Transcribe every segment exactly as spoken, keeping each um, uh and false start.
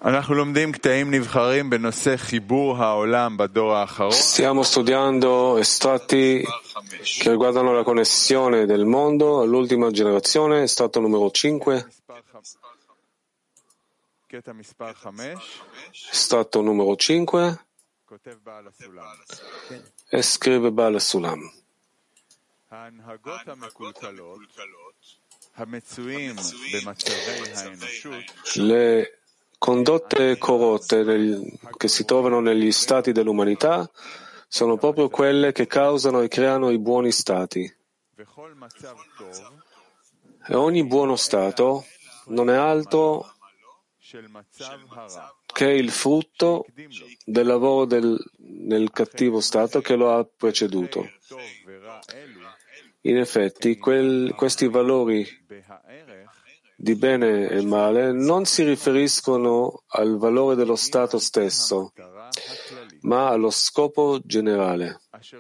Stiamo studiando estratti che riguardano la connessione del mondo all'ultima generazione, estratto numero cinque. Estratto numero cinque. E scrive Baal Sulam. Le condotte corrotte nel, che si trovano negli stati dell'umanità sono proprio quelle che causano e creano i buoni stati. E ogni buono stato non è altro che il frutto del lavoro del, nel cattivo stato che lo ha preceduto. In effetti, quel, questi valori di bene e male non si riferiscono al valore dello stato stesso, ma allo scopo generale.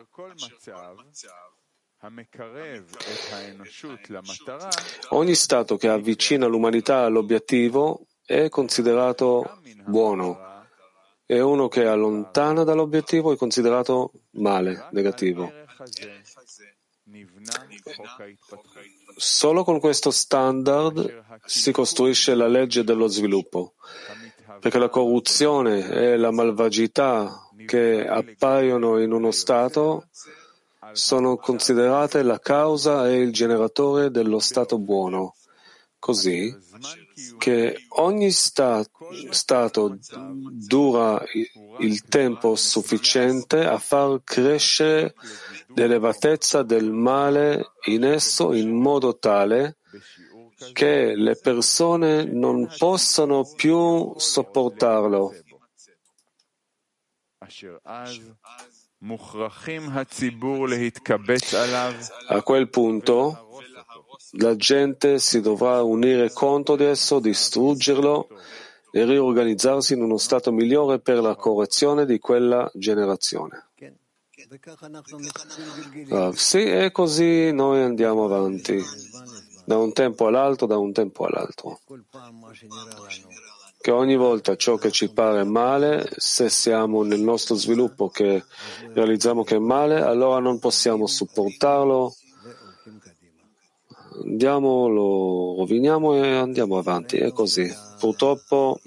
Ogni stato che avvicina l'umanità all'obiettivo è considerato buono e uno che allontana dall'obiettivo è considerato male, negativo. Solo con questo standard si costruisce la legge dello sviluppo, perché la corruzione e la malvagità che appaiono in uno stato sono considerate la causa e il generatore dello stato buono, così che ogni sta- stato dura il tempo sufficiente a far crescere l'elevatezza del male in esso in modo tale che le persone non possano più sopportarlo. A quel punto la gente si dovrà unire contro di esso, distruggerlo e riorganizzarsi in uno stato migliore per la correzione di quella generazione. Ah, sì, e così noi andiamo avanti, da un tempo all'altro, da un tempo all'altro. Che ogni volta ciò che ci pare male, se siamo nel nostro sviluppo che realizziamo che è male, allora non possiamo sopportarlo, andiamo, lo roviniamo e andiamo avanti, è così. Purtroppo,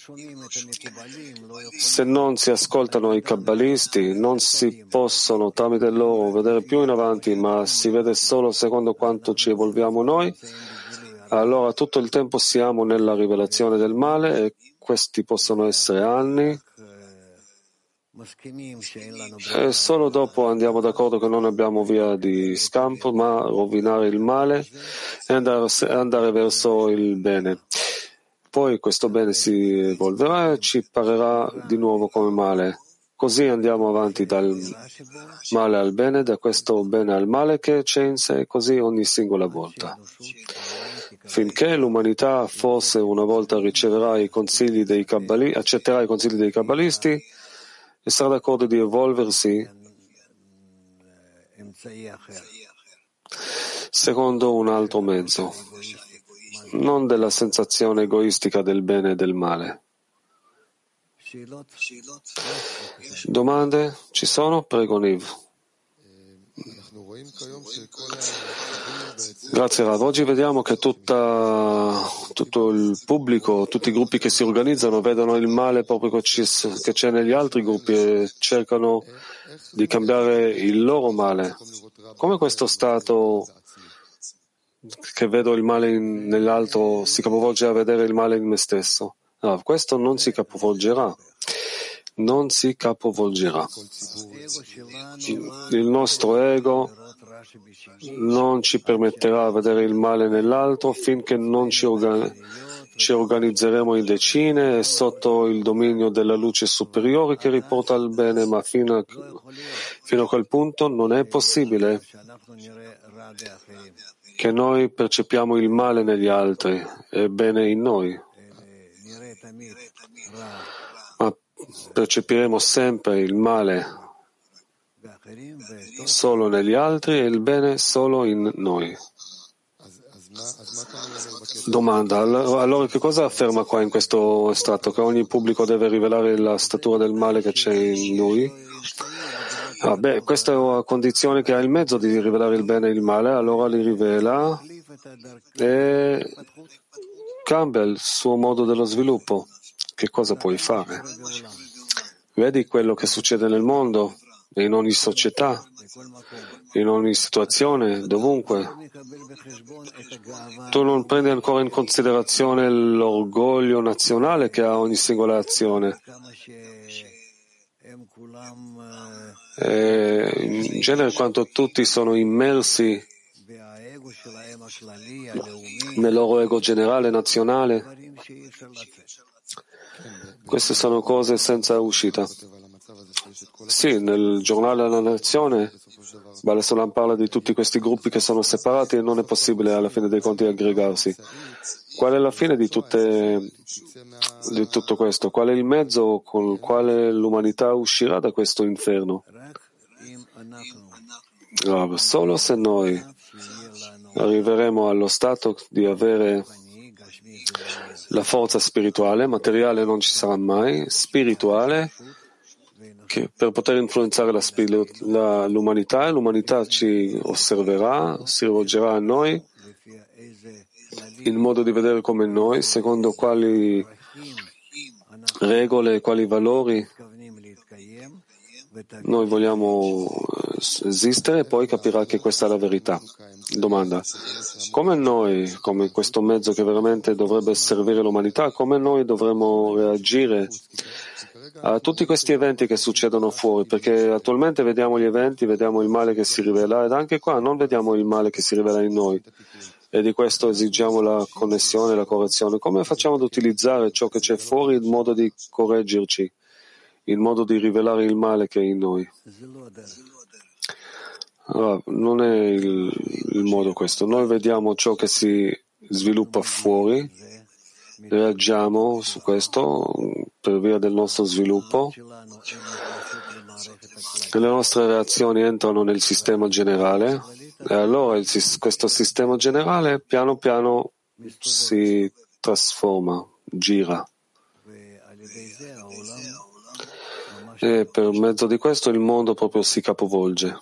se non si ascoltano i kabbalisti, non si possono tramite loro vedere più in avanti, ma si vede solo secondo quanto ci evolviamo noi, allora tutto il tempo siamo nella rivelazione del male e questi possono essere anni. E solo dopo andiamo d'accordo che non abbiamo via di scampo, ma rovinare il male e andare, andare verso il bene. Poi questo bene si evolverà e ci parerà di nuovo come male. Così andiamo avanti dal male al bene, da questo bene al male che c'è in sé, così ogni singola volta. Finché l'umanità forse una volta riceverà i consigli dei kabbalisti, accetterà i consigli dei kabbalisti e sarà d'accordo di evolversi secondo un altro mezzo, non della sensazione egoistica del bene e del male. Domande? Ci sono? Prego, Niv. Grazie Rav. Oggi vediamo che tutta, tutto il pubblico, tutti i gruppi che si organizzano vedono il male proprio che c'è negli altri gruppi e cercano di cambiare il loro male. Come questo stato che vedo il male in, nell'altro si capovolge a vedere il male in me stesso? No, questo non si capovolgerà. Non si capovolgerà. Il nostro ego non ci permetterà di vedere il male nell'altro finché non ci, organ- ci organizzeremo in decine e sotto il dominio della luce superiore che riporta al bene, ma fino a, fino a quel punto non è possibile che noi percepiamo il male negli altri e bene in noi. Ma percepiremo sempre il male solo negli altri e il bene solo in noi. Domanda, allora che cosa afferma qua in questo estratto? Che ogni pubblico deve rivelare la statura del male che c'è in lui? Ah, beh, questa è una condizione che ha il mezzo di rivelare il bene e il male, allora li rivela e cambia il suo modo dello sviluppo. Che cosa puoi fare? Vedi quello che succede nel mondo, in ogni società, in ogni situazione, dovunque. Tu non prendi ancora in considerazione l'orgoglio nazionale che ha ogni singola azione. E in genere, quando tutti sono immersi nel loro ego generale nazionale, queste sono cose senza uscita. Sì, nel giornale della nazione Baal Sulam parla di tutti questi gruppi che sono separati e non è possibile alla fine dei conti aggregarsi. Qual è la fine di, tutte, di tutto questo? Qual è il mezzo con il quale l'umanità uscirà da questo inferno? No, solo se noi arriveremo allo stato di avere la forza spirituale, materiale non ci sarà mai, spirituale, che per poter influenzare la, la, l'umanità, e l'umanità ci osserverà, si rivolgerà a noi in modo di vedere come noi, secondo quali regole, quali valori noi vogliamo esistere, e poi capirà che questa è la verità. Domanda: come noi, come questo mezzo che veramente dovrebbe servire l'umanità, come noi dovremmo reagire a tutti questi eventi che succedono fuori? Perché attualmente vediamo gli eventi, vediamo il male che si rivela, ed anche qua non vediamo il male che si rivela in noi, e di questo esigiamo la connessione, la correzione. Come facciamo ad utilizzare ciò che c'è fuori in modo di correggerci, in modo di rivelare il male che è in noi? Allora, non è il, il modo questo. Noi vediamo ciò che si sviluppa fuori, reagiamo su questo per via del nostro sviluppo, e le nostre reazioni entrano nel sistema generale, e allora il, questo sistema generale piano piano si trasforma, gira. E per mezzo di questo il mondo proprio si capovolge.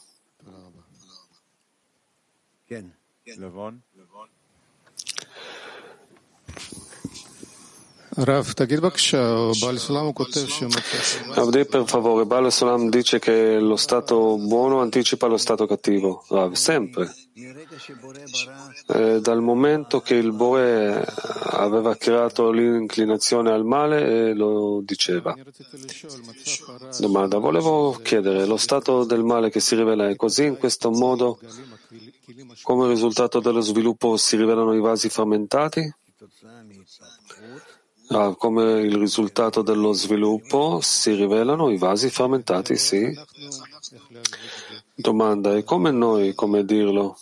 Avdi, per favore, Baal Sulam dice che lo stato buono anticipa lo stato cattivo. Rav, sempre. E dal momento che il Bore aveva creato l'inclinazione al male, e lo diceva. Domanda: volevo chiedere, lo stato del male che si rivela è così, in questo modo, come risultato dello sviluppo si rivelano i vasi frammentati? Ah, come il risultato dello sviluppo si rivelano i vasi frammentati, sì. Domanda: e come noi, come dirlo?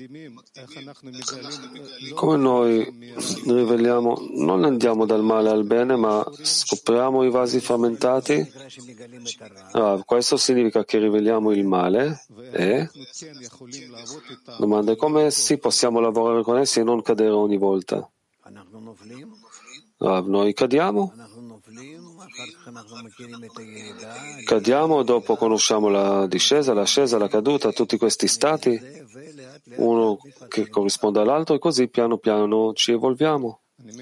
Come noi riveliamo, non andiamo dal male al bene, ma scopriamo i vasi frammentati? Ah, questo significa che riveliamo il male e? Domanda: come sì possiamo lavorare con essi e non cadere ogni volta? Ah, noi cadiamo? Cadiamo, dopo conosciamo la discesa, l'ascesa, la caduta, tutti questi stati, uno che corrisponde all'altro, e così piano piano ci evolviamo.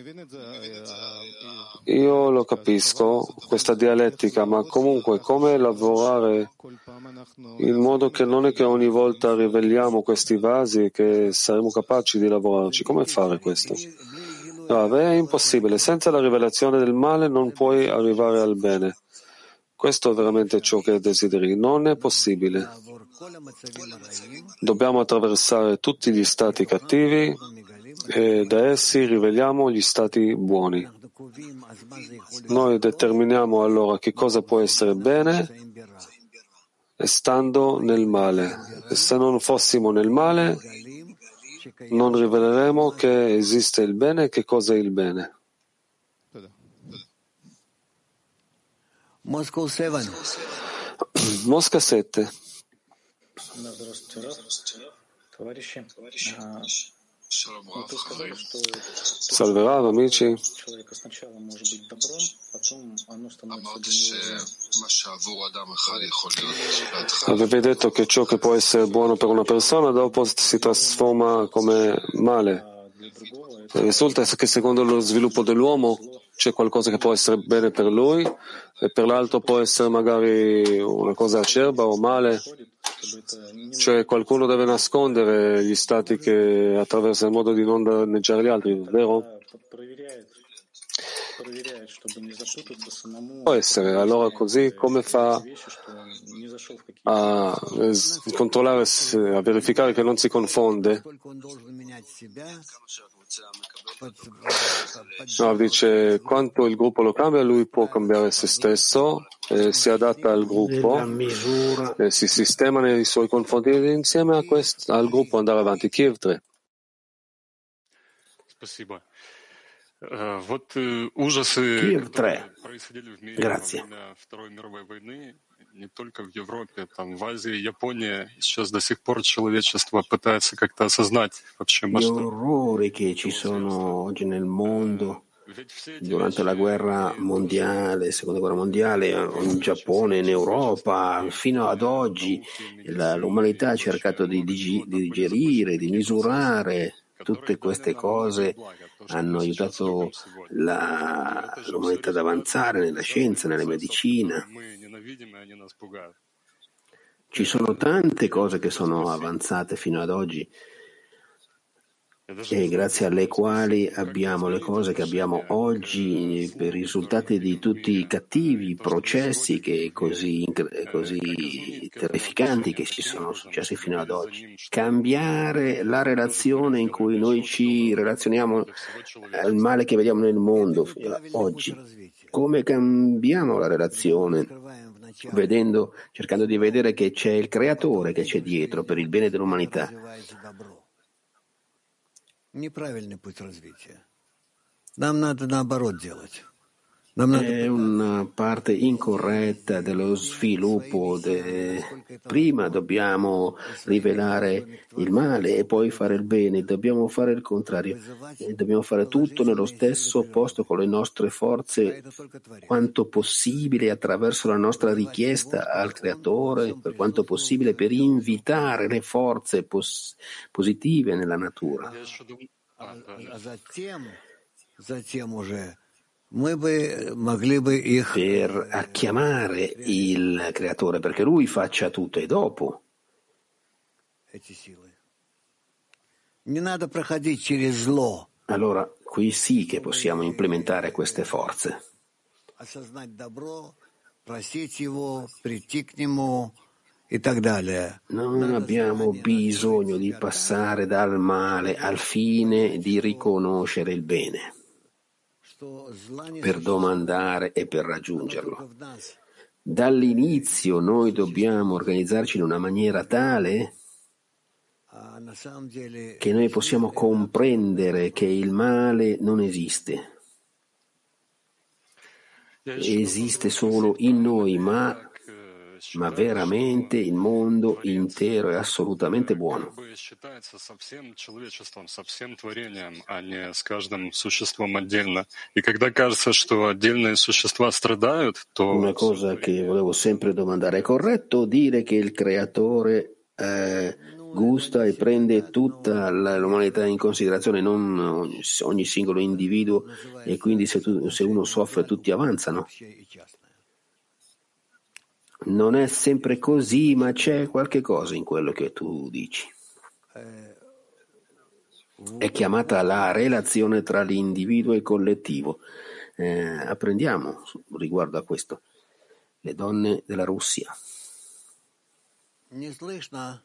Io lo capisco, questa dialettica, ma comunque come lavorare in modo che non è che ogni volta riveliamo questi vasi che saremo capaci di lavorarci? Come fare questo? No, è impossibile. Senza la rivelazione del male non puoi arrivare al bene. Questo è veramente ciò che desideri. Non è possibile. Dobbiamo attraversare tutti gli stati cattivi e da essi riveliamo gli stati buoni. Noi determiniamo allora che cosa può essere bene stando nel male. E se non fossimo nel male, non riveleremo che esiste il bene e che cosa è il bene. Mosca sette. Salve Rav, amici. Avevi detto che ciò che può essere buono per una persona dopo si trasforma come male. Risulta che secondo lo sviluppo dell'uomo c'è qualcosa che può essere bene per lui e per l'altro può essere magari una cosa acerba o male. Cioè qualcuno deve nascondere gli stati che attraversa in modo di non danneggiare gli altri, vero? Può essere, allora così come fa a controllare, a verificare che non si confonde? No, dice quanto il gruppo lo cambia, lui può cambiare se stesso, eh, si adatta al gruppo, eh, si sistema nei suoi confronti ed insieme a questo, al gruppo andare avanti. Kiev tre. Kiev tre. Grazie. Не только в Европе, там в Азии, Япония, сейчас до сих пор человечество пытается как-то осознать вообще масштаб. Gli orrori che ci sono oggi nel mondo, durante la guerra mondiale, seconda guerra mondiale, in Giappone, in Europa, fino ad oggi la, l'umanità ha cercato di, di, di digerire, di misurare. Tutte queste cose hanno aiutato la, l'umanità ad avanzare nella scienza, nella medicina. Ci sono tante cose che sono avanzate fino ad oggi e grazie alle quali abbiamo le cose che abbiamo oggi per risultati di tutti i cattivi processi che così, così terrificanti che ci sono successi fino ad oggi. Cambiare la relazione in cui noi ci relazioniamo al male che vediamo nel mondo oggi. Come cambiamo la relazione? Vedendo, cercando di vedere che c'è il creatore che c'è dietro per il bene dell'umanità. Неправильный путь развития. Нам надо наоборот делать. Нам надо... È una parte incorretta dello sviluppo. De... Prima dobbiamo rivelare il male e poi fare il bene. Dobbiamo fare il contrario. E dobbiamo fare tutto nello stesso posto con le nostre forze quanto possibile attraverso la nostra richiesta al Creatore, per quanto possibile per invitare le forze pos- positive nella natura. Per chiamare il Creatore, perché Lui faccia tutto e dopo. Allora, qui sì che possiamo implementare queste forze. Non abbiamo bisogno di passare dal male al fine di riconoscere il bene, per domandare e per raggiungerlo. Dall'inizio noi dobbiamo organizzarci in una maniera tale che noi possiamo comprendere che il male non esiste. Esiste solo in noi, ma ma veramente il mondo intero è assolutamente buono. Una cosa che volevo sempre domandare, è corretto dire che il creatore eh, gusta e prende tutta l'umanità in considerazione, non ogni singolo individuo, e quindi se, tu, se uno soffre tutti avanzano? Non è sempre così, ma c'è qualche cosa in quello che tu dici. È chiamata la relazione tra l'individuo e il collettivo. Eh, apprendiamo riguardo a questo. Le donne della Russia. Не слышно.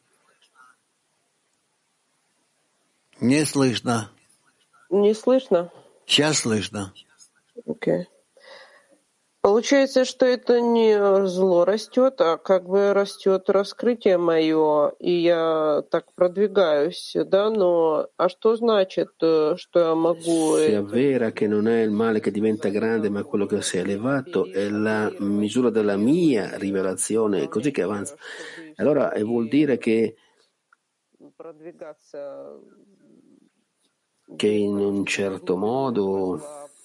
Не слышно. Не слышно? Сейчас слышно. Окей. Okay. Получается, что это не зло растет, а как бы rастет раскрытие мое, и я так продвигаюсь, да, но а что значит, что я могу... Si avvera che non è il male che diventa grande, ma quello che si è elevato, è la misura della mia rivelazione, è così che avanza. Allora vuol dire che che in un certo modo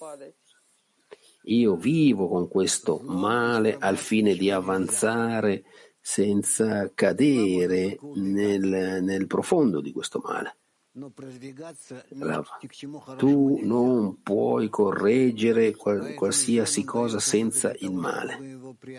io vivo con questo male al fine di avanzare senza cadere nel, nel profondo di questo male. Tu non puoi correggere qual, qualsiasi cosa senza il male.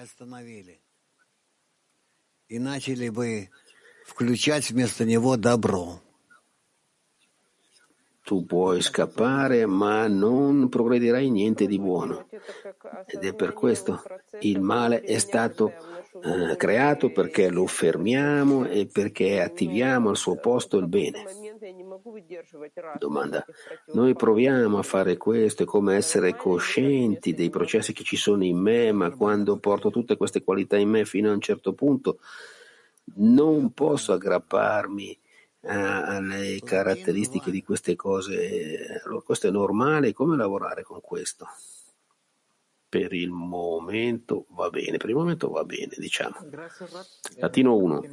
Tu puoi scappare, ma non progredirai niente di buono. Ed è per questo il male è stato eh, creato perché lo fermiamo e perché attiviamo al suo posto il bene. Domanda. Noi proviamo a fare questo, è come essere coscienti dei processi che ci sono in me, ma quando porto tutte queste qualità in me fino a un certo punto non posso aggrapparmi alle caratteristiche di queste cose. Allora, questo è normale. Come lavorare con questo? Per il momento va bene, per il momento va bene, diciamo. Latino uno.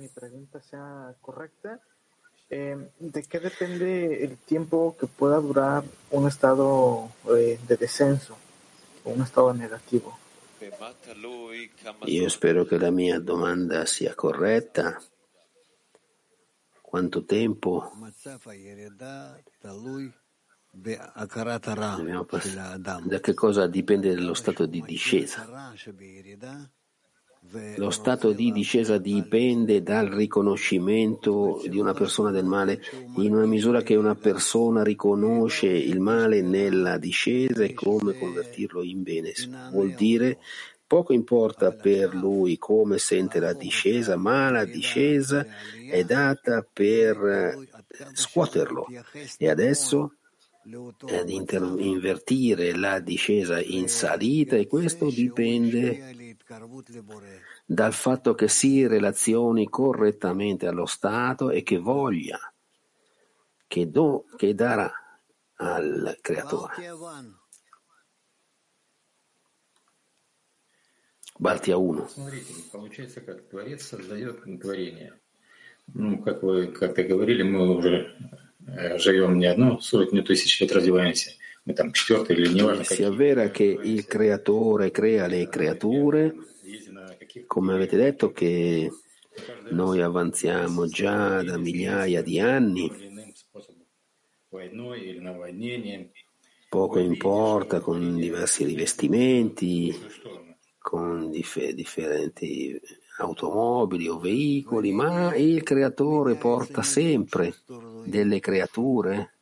Eh, ¿de qué depende el tiempo que pueda durar un estado eh, de descenso o un estado negativo? Io spero che la mia domanda sia corretta. Quanto tempo? Da che cosa dipende lo stato di discesa? Lo stato di discesa dipende dal riconoscimento di una persona del male. In una misura che una persona riconosce il male nella discesa e come convertirlo in bene. Vuol dire poco importa per lui come sente la discesa, ma la discesa è data per scuoterlo. E adesso è di inter- invertire la discesa in salita, e questo dipende dal fatto che si relazioni correttamente allo stato e che voglia, che, do, che darà al creatore. Балтия uno. Смотрите, получается, как Творец создает творение. Ну, как вы как-то говорили, мы уже живем не одну сотню тысяч лет, развиваемся. Мы там четвертый или неважно какие. Si avvera che il creatore crea le creature, come avete detto che noi avanziamo già da migliaia di anni. Poco importa, con diversi rivestimenti, con dif- differenti automobili o veicoli, ma il creatore porta sempre delle creature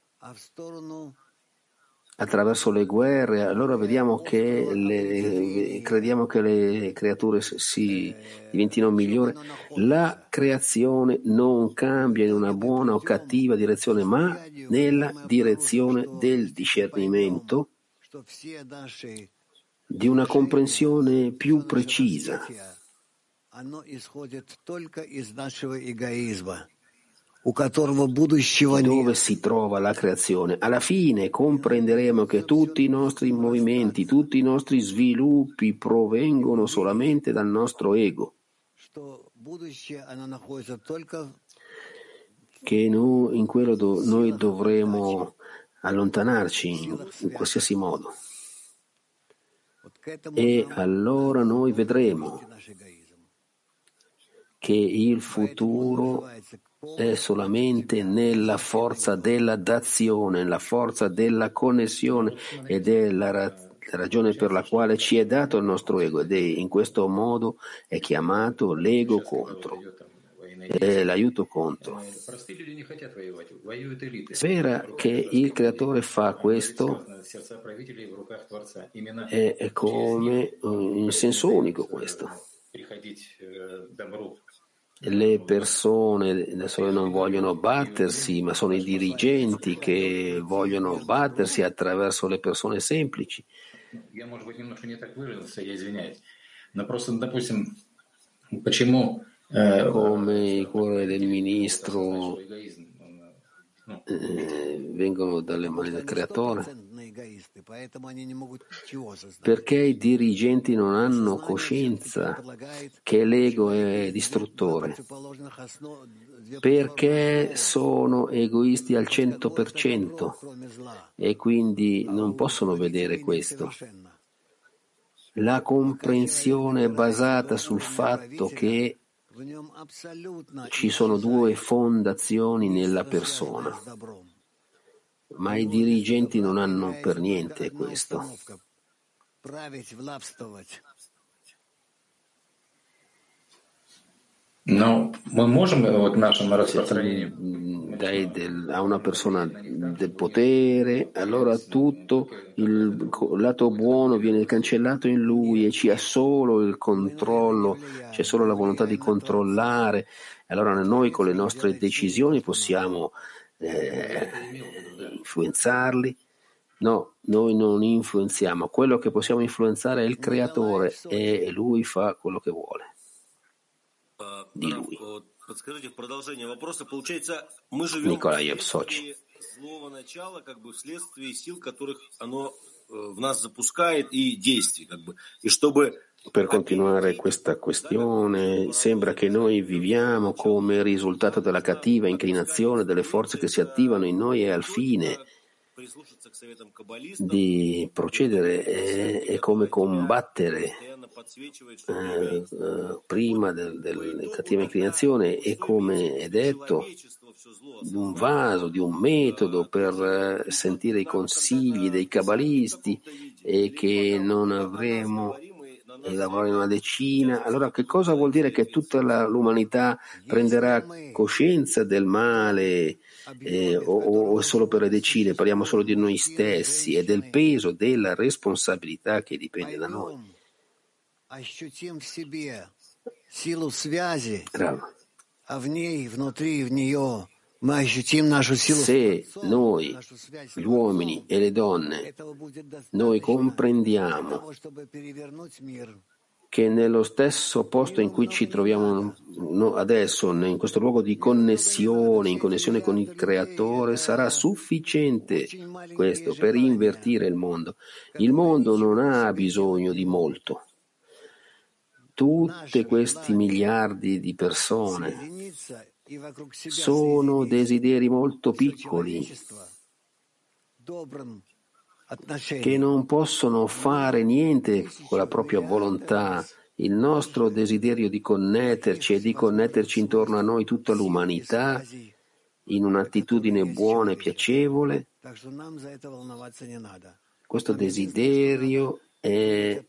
attraverso le guerre. Allora vediamo che le, crediamo che le creature si diventino migliori. La creazione non cambia in una buona o cattiva direzione, ma nella direzione del discernimento, di una comprensione più precisa, dove si trova la creazione. Alla fine comprenderemo che tutti i nostri movimenti, tutti i nostri sviluppi provengono solamente dal nostro ego, che noi, in quello do, noi dovremo allontanarci in, in qualsiasi modo. E allora noi vedremo che il futuro è solamente nella forza della dazione, la forza della connessione, ed è la ra- ragione per la quale ci è dato il nostro ego, ed è in questo modo è chiamato l'ego contro, è l'aiuto contro. Spera che il creatore fa questo, è, è come in senso unico questo. Le persone adesso non vogliono battersi, ma sono i dirigenti che vogliono battersi attraverso le persone semplici. Come il cuore del ministro eh, vengono dalle mani del creatore. Perché i dirigenti non hanno coscienza che l'ego è distruttore, perché sono egoisti al cento per cento e quindi non possono vedere questo. La comprensione è basata sul fatto che ci sono due fondazioni nella persona, ma i dirigenti non hanno per niente questo. Но мы можем вот нашим распространением dai del, a una persona del potere, allora tutto il lato buono viene cancellato in lui e ci ha solo il controllo, c'è solo la volontà di controllare. Allora noi con le nostre decisioni possiamo eh, influenzarli. No, noi non influenziamo. Quello che possiamo influenzare è il creatore e lui fa quello che vuole di lui. Николаев, Сочи. Per continuare questa questione, sembra che noi viviamo come risultato della cattiva inclinazione delle forze che si attivano in noi e al fine di procedere è, è come combattere eh, eh, prima del, della cattiva inclinazione e come è detto di un vaso, di un metodo per eh, sentire i consigli dei cabalisti e che non avremo e lavorare in una decina. Allora che cosa vuol dire che tutta la, l'umanità prenderà coscienza del male eh, o, o solo per le decine? Parliamo solo di noi stessi e del peso della responsabilità che dipende da noi. Bravo. Se noi, gli uomini e le donne, noi comprendiamo che nello stesso posto in cui ci troviamo adesso, in questo luogo di connessione, in connessione con il Creatore, sarà sufficiente questo per invertire il mondo. Il mondo non ha bisogno di molto. Tutti questi miliardi di persone sono desideri molto piccoli che non possono fare niente con la propria volontà. Il nostro desiderio di connetterci e di connetterci intorno a noi tutta l'umanità in un'attitudine buona e piacevole, questo desiderio è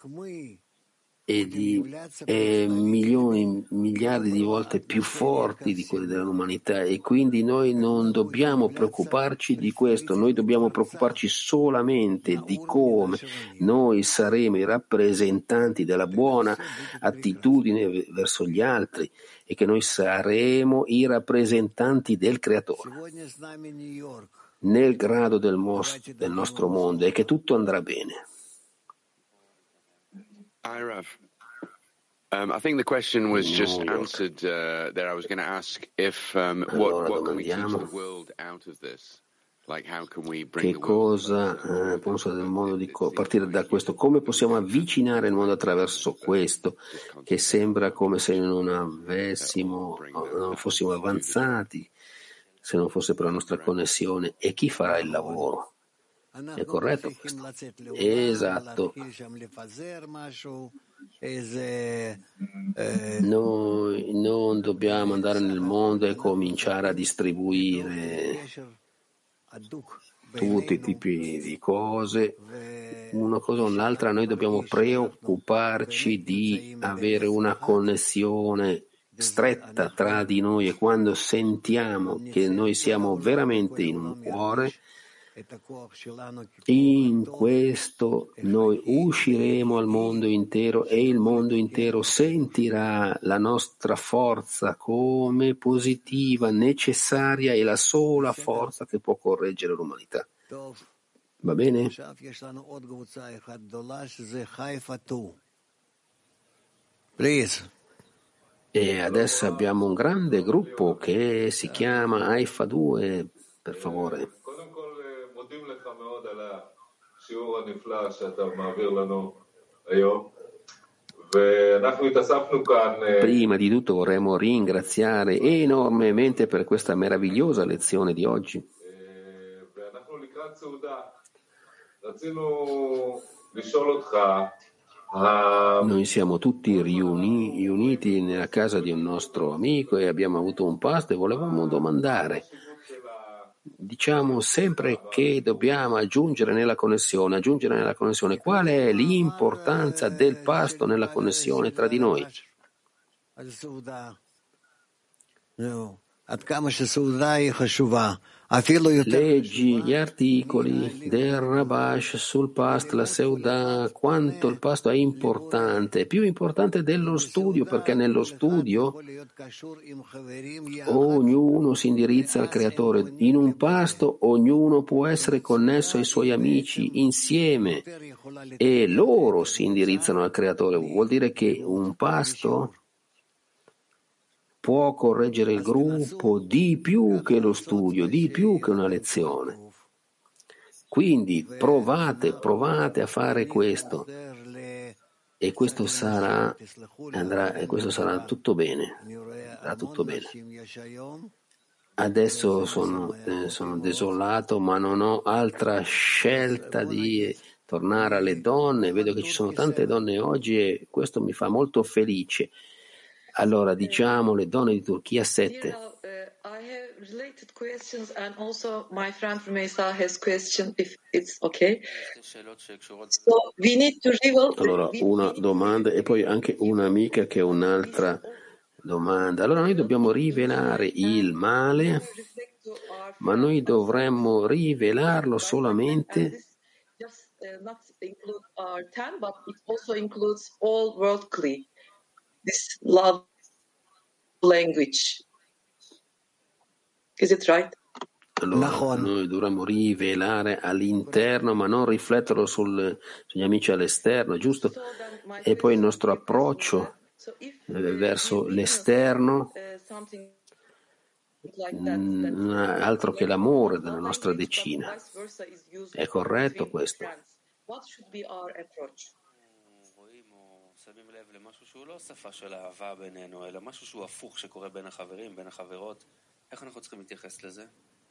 e di eh, milioni, miliardi di volte più forti di quelli dell'umanità e quindi noi non dobbiamo preoccuparci di questo, noi dobbiamo preoccuparci solamente di come noi saremo i rappresentanti della buona attitudine verso gli altri e che noi saremo i rappresentanti del Creatore nel grado del, mos- del nostro mondo e che tutto andrà bene. Hi, Rav. Um, I think the question was just answered uh, there. I was going to ask if um, what, what can we teach the world out of this? Like, how can we bring che cosa eh, penso del mondo di co- partire da questo? Come possiamo avvicinare il mondo attraverso questo? Che sembra come se non avessimo, non fossimo avanzati, se non fosse per la nostra connessione. E chi farà il lavoro? È corretto questo? Esatto. Noi non dobbiamo andare nel mondo e cominciare a distribuire tutti i tipi di cose, una cosa o un'altra. Noi dobbiamo preoccuparci di avere una connessione stretta tra di noi e quando sentiamo che noi siamo veramente in un cuore, in questo noi usciremo al mondo intero e il mondo intero sentirà la nostra forza come positiva, necessaria e la sola forza che può correggere l'umanità. Va bene? E adesso abbiamo un grande gruppo che si chiama Haifa due, per favore. Prima di tutto vorremmo ringraziare enormemente per questa meravigliosa lezione di oggi. Noi siamo tutti riuni, riuniti nella casa di un nostro amico e abbiamo avuto un pasto e volevamo domandare. Diciamo sempre che dobbiamo aggiungere nella connessione, aggiungere nella connessione. Qual è l'importanza del pasto nella connessione tra di noi? Leggi gli articoli del Rabash sul pasto, la Seudah, quanto il pasto è importante, più importante dello studio, perché nello studio ognuno si indirizza al Creatore. In un pasto ognuno può essere connesso ai suoi amici insieme e loro si indirizzano al Creatore. Vuol dire che un pasto può correggere il gruppo di più che lo studio, di più che una lezione. Quindi provate, provate a fare questo e questo sarà, andrà, e questo sarà tutto bene, andrà tutto bene. Adesso sono, eh, sono desolato, ma non ho altra scelta di tornare alle donne. Vedo che ci sono tante donne oggi e questo mi fa molto felice. Allora, diciamo le donne di Turchia sette. You know, uh, I have related questions and also my friend from Mesa has question if it's okay. So we need to reveal. Allora, una domanda e poi anche un'amica che ha un'altra domanda. Allora, noi dobbiamo rivelare il male, ma noi dovremmo rivelarlo solamente. Just uh, not include our ten, but it also includes all worldly. This love language. Is it right? Allora, noi dovremmo rivelare all'interno, ma non rifletterlo sul, sugli amici all'esterno, giusto? E poi il nostro approccio eh, verso l'esterno, mh, altro che l'amore della nostra decina. È corretto questo? What should be our approach? שמים לב למשהו שהוא לא שפה של אהבה בינינו, אלא משהו שהוא הפוך שקורה בין החברים, בין החברות. איך אנחנו צריכים להתייחס לזה?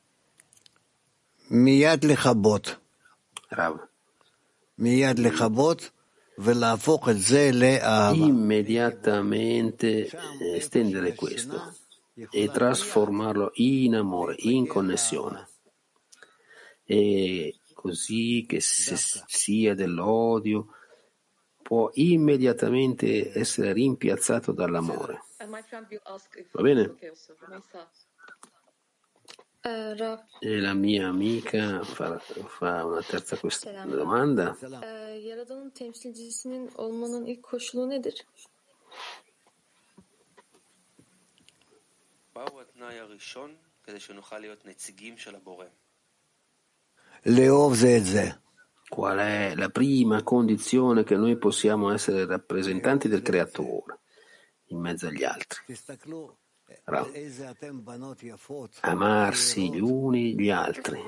מיד לכבות. רב. מיד לכבות ולהפוך את זה לאהבה. Immediatamente estendere questo e trasformarlo in amore, in connessione. E così che se sia dell'odio può immediatamente essere rimpiazzato dall'amore. Va bene? E la mia amica fa, fa una terza quest- domanda. Yaradan'ın temsilcisinin olmanın ilk koşulu nedir? מהו התנאי הראשון כדי שנוכל להיות נציגים של הבורא? לאהוב זה את זה. Qual è la prima condizione che noi possiamo essere rappresentanti del Creatore in mezzo agli altri? Amarsi gli uni gli altri.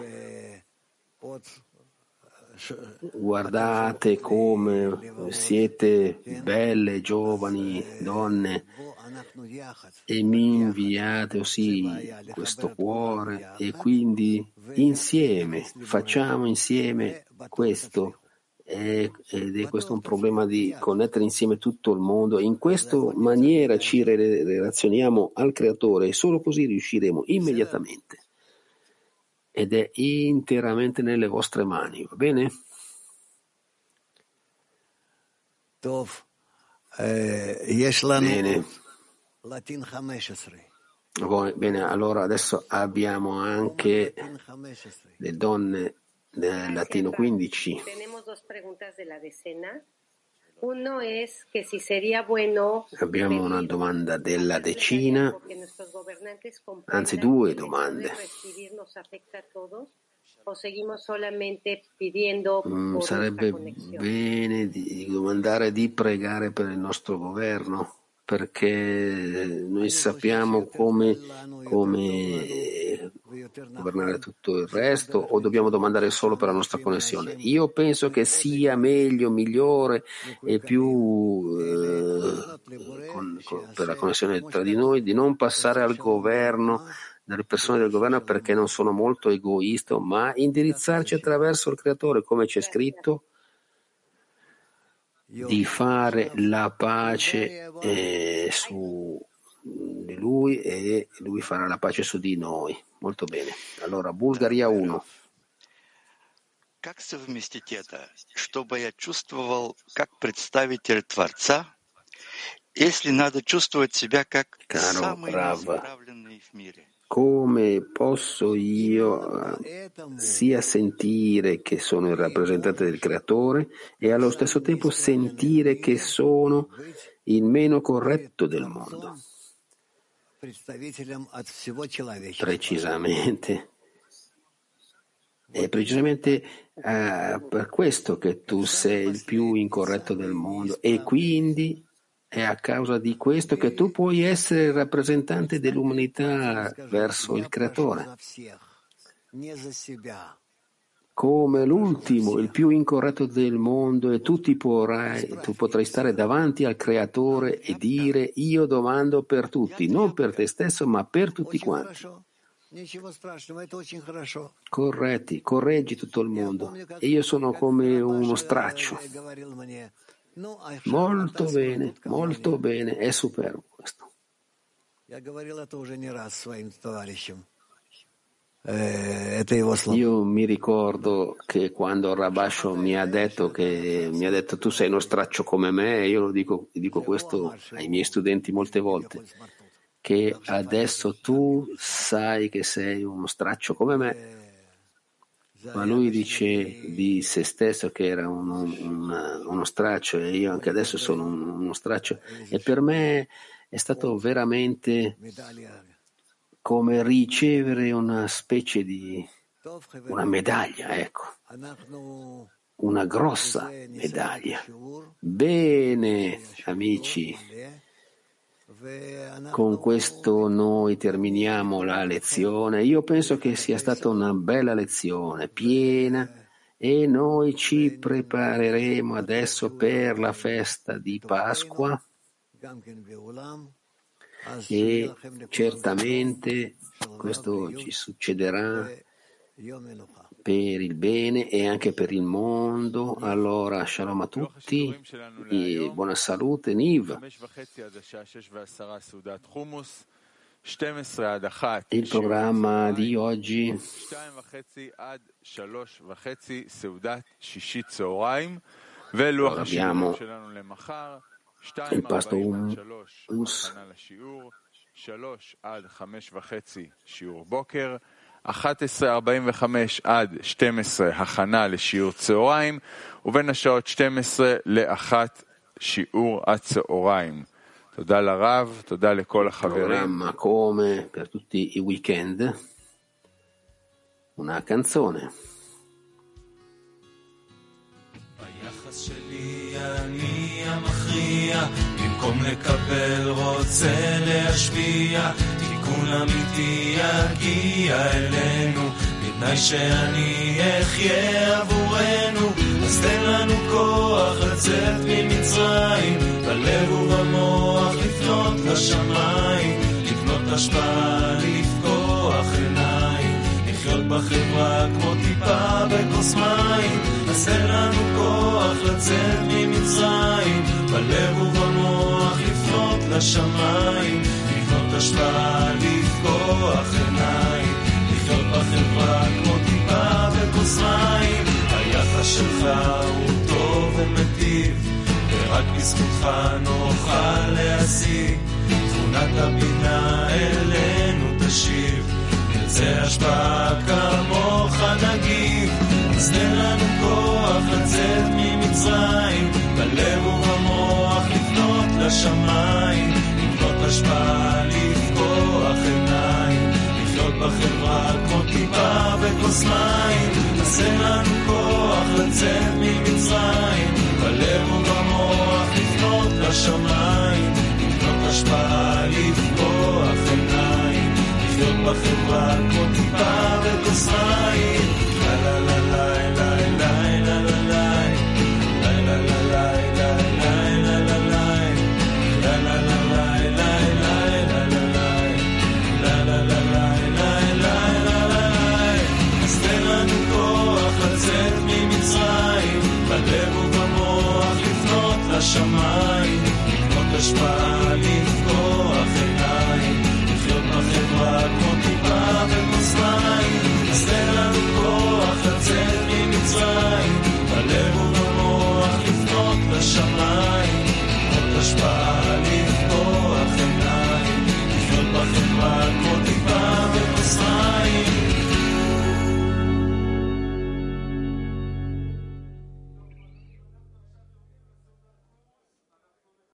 Guardate come siete belle, giovani, donne, e mi inviate così questo cuore e quindi insieme, facciamo insieme questo. Ed è questo un problema di connettere insieme tutto il mondo. In questa maniera ci relazioniamo al Creatore e solo così riusciremo immediatamente. Ed è interamente nelle vostre mani, va bene? Bene. Bene, allora adesso abbiamo anche le donne del Latino quindici. Abbiamo una domanda della decina, anzi due domande. Mm, sarebbe bene di domandare di pregare per il nostro governo, perché noi sappiamo come, come governare tutto il resto o dobbiamo domandare solo per la nostra connessione? Io penso che sia meglio, migliore e più eh, con, con, per la connessione tra di noi di non passare al governo, dalle persone del governo, perché non sono molto egoista, ma indirizzarci attraverso il Creatore, come c'è scritto, di fare la pace eh, su di lui e lui farà la pace su di noi. Molto bene. Allora, Bulgaria uno. Как совместить это, чтобы я чувствовал как представитель Творца, если надо чувствовать себя как самый неисправленный в мире? Come posso io sia sentire che sono il rappresentante del Creatore e allo stesso tempo sentire che sono il meno corretto del mondo? Precisamente. È precisamente uh, per questo che tu sei il più incorretto del mondo e quindi è a causa di questo che tu puoi essere il rappresentante dell'umanità verso il Creatore. Come l'ultimo, il più incorretto del mondo, e tu, ti potrai, tu potrai stare davanti al Creatore e dire: io domando per tutti, non per te stesso, ma per tutti quanti. Corretti, correggi tutto il mondo. E io sono come uno straccio. Molto bene, molto bene, è superbo questo. Io mi ricordo che quando Rabasho mi ha detto che mi ha detto tu sei uno straccio come me, io lo dico, dico questo ai miei studenti molte volte, che adesso tu sai che sei uno straccio come me. Ma lui dice di se stesso che era uno, una, uno straccio e io anche adesso sono un, uno straccio, e per me è stato veramente come ricevere una specie di una medaglia, ecco, una grossa medaglia. Bene, amici, con questo noi terminiamo la lezione. Io penso che sia stata una bella lezione, piena, e noi ci prepareremo adesso per la festa di Pasqua e certamente questo ci succederà per il bene e anche per il mondo. Allora, shalom a tutti e buona salute, Niv. Il programma di oggi allora, abbiamo il pasto hummus, אחת עשרה ארבעים וחמש עד שתים עשרה הכנה לשיעור צהריים, ובין השעות שתים עשרה לאחת שיעור הצהריים. תודה לרב, תודה לכל החברים. Programma come per tutti i weekend, una canzone. ביחס שלי אני המכריע, במקום לקבל רוצה להשפיע, תיקון אמיתי יגיע אלינו, בתנאי שאני אחיה עבורנו. אז תן לנו כוח לצאת ממצרים, בלב ובמוח לפנות לשמיים, לקנות השפעה, לפקוח עיניים, לחיות בחברה כמו טיפה בכוס מים. אז תן לנו כוח לצאת ממצרים, בלב ובמוח לפנות לשמיים, לקנות השפעה, לפקוח עיניים, לחיות בחברה כמו טיפה בכוס מים. היחס שלך הוא טוב ומטיב, ורק בזכותך נוכל להשיג, תכונת הבינה אלינו תשיב, נרצה השפעה כמוך נגיב. אז תן לנו כוח לצאת ממצרים, בלב ובמוח לפנות לשמיים, לקנות השפעה, לפקוח עיניים, לחיות בחברה כמו טיפה בכוס מים. אז תן לנו כוח לצאת ממצרים, בלב ובמוח לפנות לשמיים.